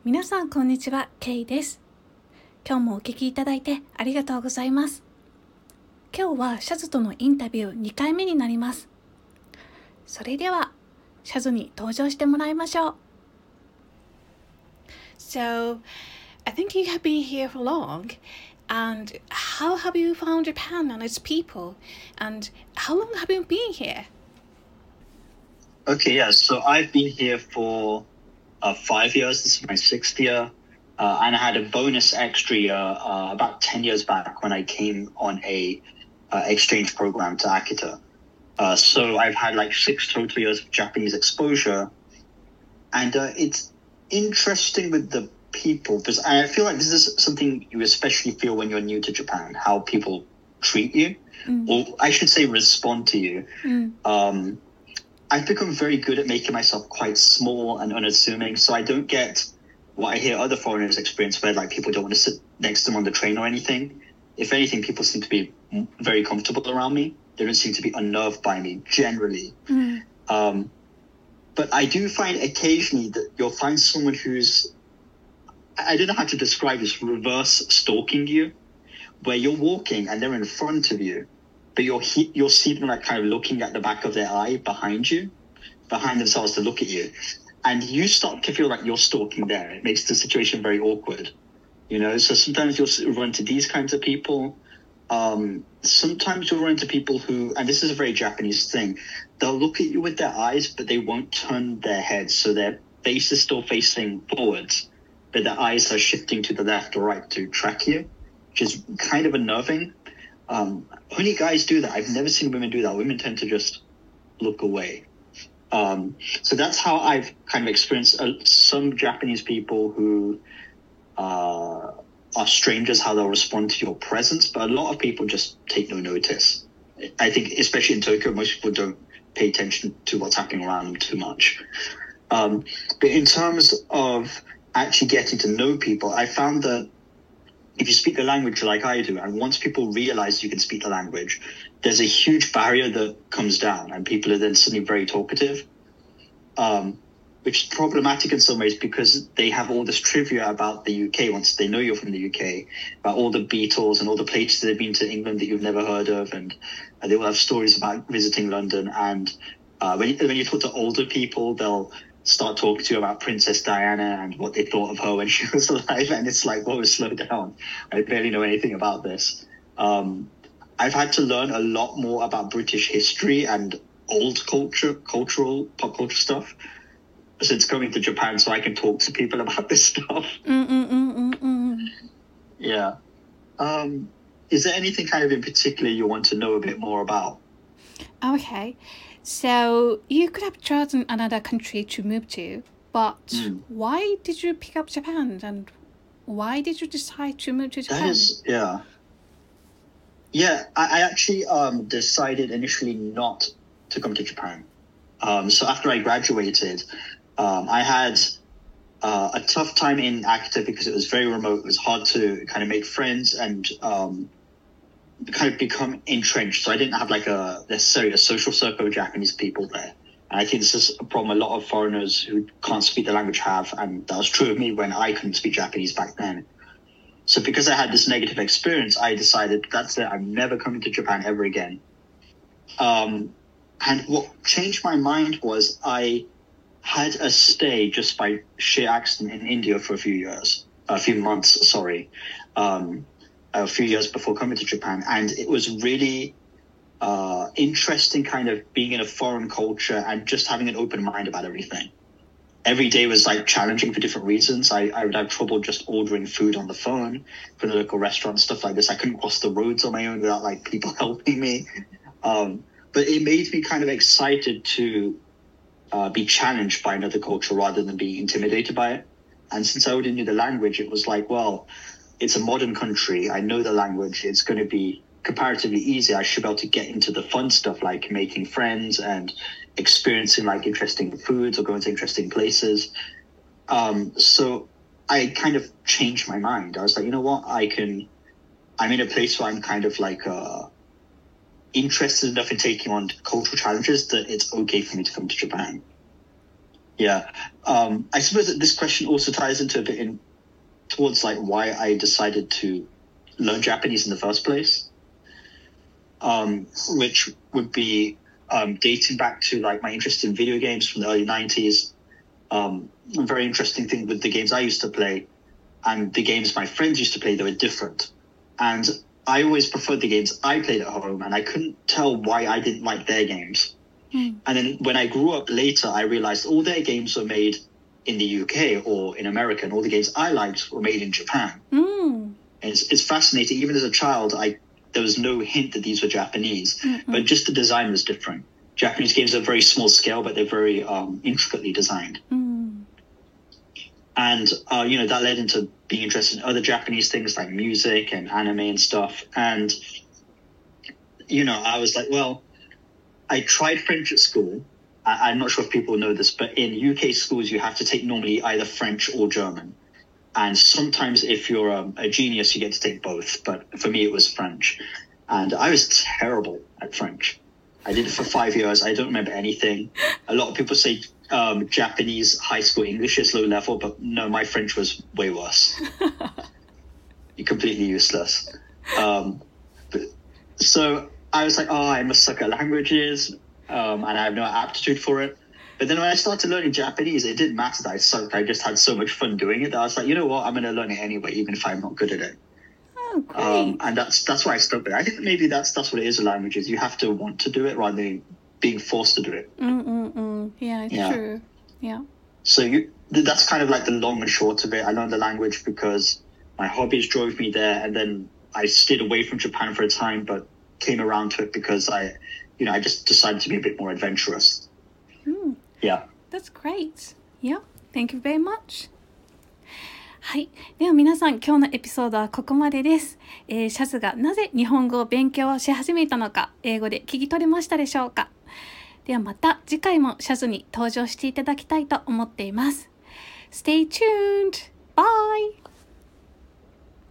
皆さんこんにちは、ケイです。今日もお聞きいただいてありがとうございます。今日はシャズとのインタビュー2回目になります。それではシャズに登場してもらいましょう。So, I think you have been here for long. And how have you found Japan and its people? And how long have you been here? Okay, yeah. So I've been here for 5 years. This is my 6th year. And I had a bonus extra year about 10 years back when I came on a exchange program to Akita. So I've had like 6 total years of Japanese exposure. And it's interesting with the people, because I feel like this is something you especially feel when you're new to Japan, how people treat you, or I should say respond to you. I've become very good at making myself quite small and unassuming, so I don't get what I hear other foreigners experience, where like people don't want to sit next to them on the train or anything. If anything, people seem to be very comfortable around me. They don't seem to be unnerved by me generally. But I do find occasionally that you'll find someone who's, I don't know how to describe this, reverse stalking you, where you're walking and they're in front of you, but you'll see them like kind of looking at the back of their eye behind themselves to look at you. And you start to feel like you're stalking there. It makes the situation very awkward, you know? So sometimes you'll run into these kinds of people. Sometimes you'll run into people who, and this is a very Japanese thing, they'll look at you with their eyes, but they won't turn their heads. So their face is still facing forwards, but their eyes are shifting to the left or right to track you, which is kind of unnerving. Only guys do that. I've never seen women do that. Women tend to just look away. So that's how I've kind of experienced some Japanese people who are strangers, how they'll respond to your presence, but a lot of people just take no notice. I think, especially in Tokyo, most people don't pay attention to what's happening around them too much. But in terms of actually getting to know people, I found that if you speak the language like I do, and once people realize you can speak the language, there's a huge barrier that comes down, and people are then suddenly very talkative, which is problematic in some ways because they have all this trivia about the UK once they know you're from the UK, about all the Beatles and all the places they've been to England that you've never heard of, and they will have stories about visiting London. And when you talk to older people, they'll start talking to you about Princess Diana and what they thought of her when she was alive, and it's like, whoa, slow down. I barely know anything about this. I've had to learn a lot more about British history and old cultural pop culture stuff since coming to Japan, so I can talk to people about this stuff. Yeah. Is there anything kind of in particular you want to know a bit more about? Okay, so you could have chosen another country to move to, but why did you pick up Japan, and why did you decide to move to Japan? I actually decided initially not to come to Japan. So after I graduated, I had a tough time in Akita because it was very remote. It was hard to kind of make friends and kind of become entrenched. So I didn't have like necessarily a social circle of Japanese people there. And I think this is a problem a lot of foreigners who can't speak the language have. And that was true of me when I couldn't speak Japanese back then. So because I had this negative experience, I decided that's it. I'm never coming to Japan ever again. And what changed my mind was I had a stay just by sheer accident in India for a few months, a few years before coming to Japan. And it was really interesting kind of being in a foreign culture and just having an open mind about everything. Every day was like challenging for different reasons. I would have trouble just ordering food on the phone from the local restaurant, stuff like this. I couldn't cross the roads on my own without like people helping me. But it made me kind of excited to be challenged by another culture rather than being intimidated by it. And since I already knew the language, it was like, well, it's a modern country. I know the language. It's going to be comparatively easy. I should be able to get into the fun stuff like making friends and experiencing like interesting foods or going to interesting places. So I kind of changed my mind. I was like, you know what? I'm in a place where I'm kind of like interested enough in taking on cultural challenges that it's okay for me to come to Japan. Yeah. I suppose that this question also ties into a bit towards like why I decided to learn Japanese in the first place, which would be dating back to like my interest in video games from the early 90s. A very interesting thing with the games I used to play and the games my friends used to play, they were different. And I always preferred the games I played at home, and I couldn't tell why I didn't like their games. And then when I grew up later, I realized all their games were made in the UK or in America, and all the games I liked were made in Japan. And it's fascinating. Even as a child, there was no hint that these were Japanese, but just the design was different. Japanese games are very small scale, but they're very intricately designed. And, that led into being interested in other Japanese things like music and anime and stuff. And, I was like, well, I tried French at school. I'm not sure if people know this, but in UK schools, you have to take normally either French or German. And sometimes if you're a genius, you get to take both. But for me, it was French. And I was terrible at French. I did it for 5 years. I don't remember anything. A lot of people say Japanese high school English is low level, but no, my French was way worse. Completely useless. So I was like, I must suck at languages, and I have no aptitude for it. But then when I started learning Japanese, it didn't matter that I sucked. I just had so much fun doing it that I was like, you know what, I'm going to learn it anyway, even if I'm not good at it. Oh, great. And that's why I stuck with it. I think maybe that's what it is with languages. You have to want to do it rather than being forced to do it. Yeah, it's true. Yeah. So that's kind of like the long and short of it. I learned the language because my hobbies drove me there, and then I stayed away from Japan for a time, but came around to it because I just decided to be a bit more adventurous. Yeah. That's great. Yeah. Thank you very much. はい。では皆さん、今日のエピソードはここまでです。シャズがなぜ日本語を勉強し始めたのか、英語で聞き取れましたでしょうか。ではまた次回もシャズに登場していただきたいと思っています。Stay tuned! Bye!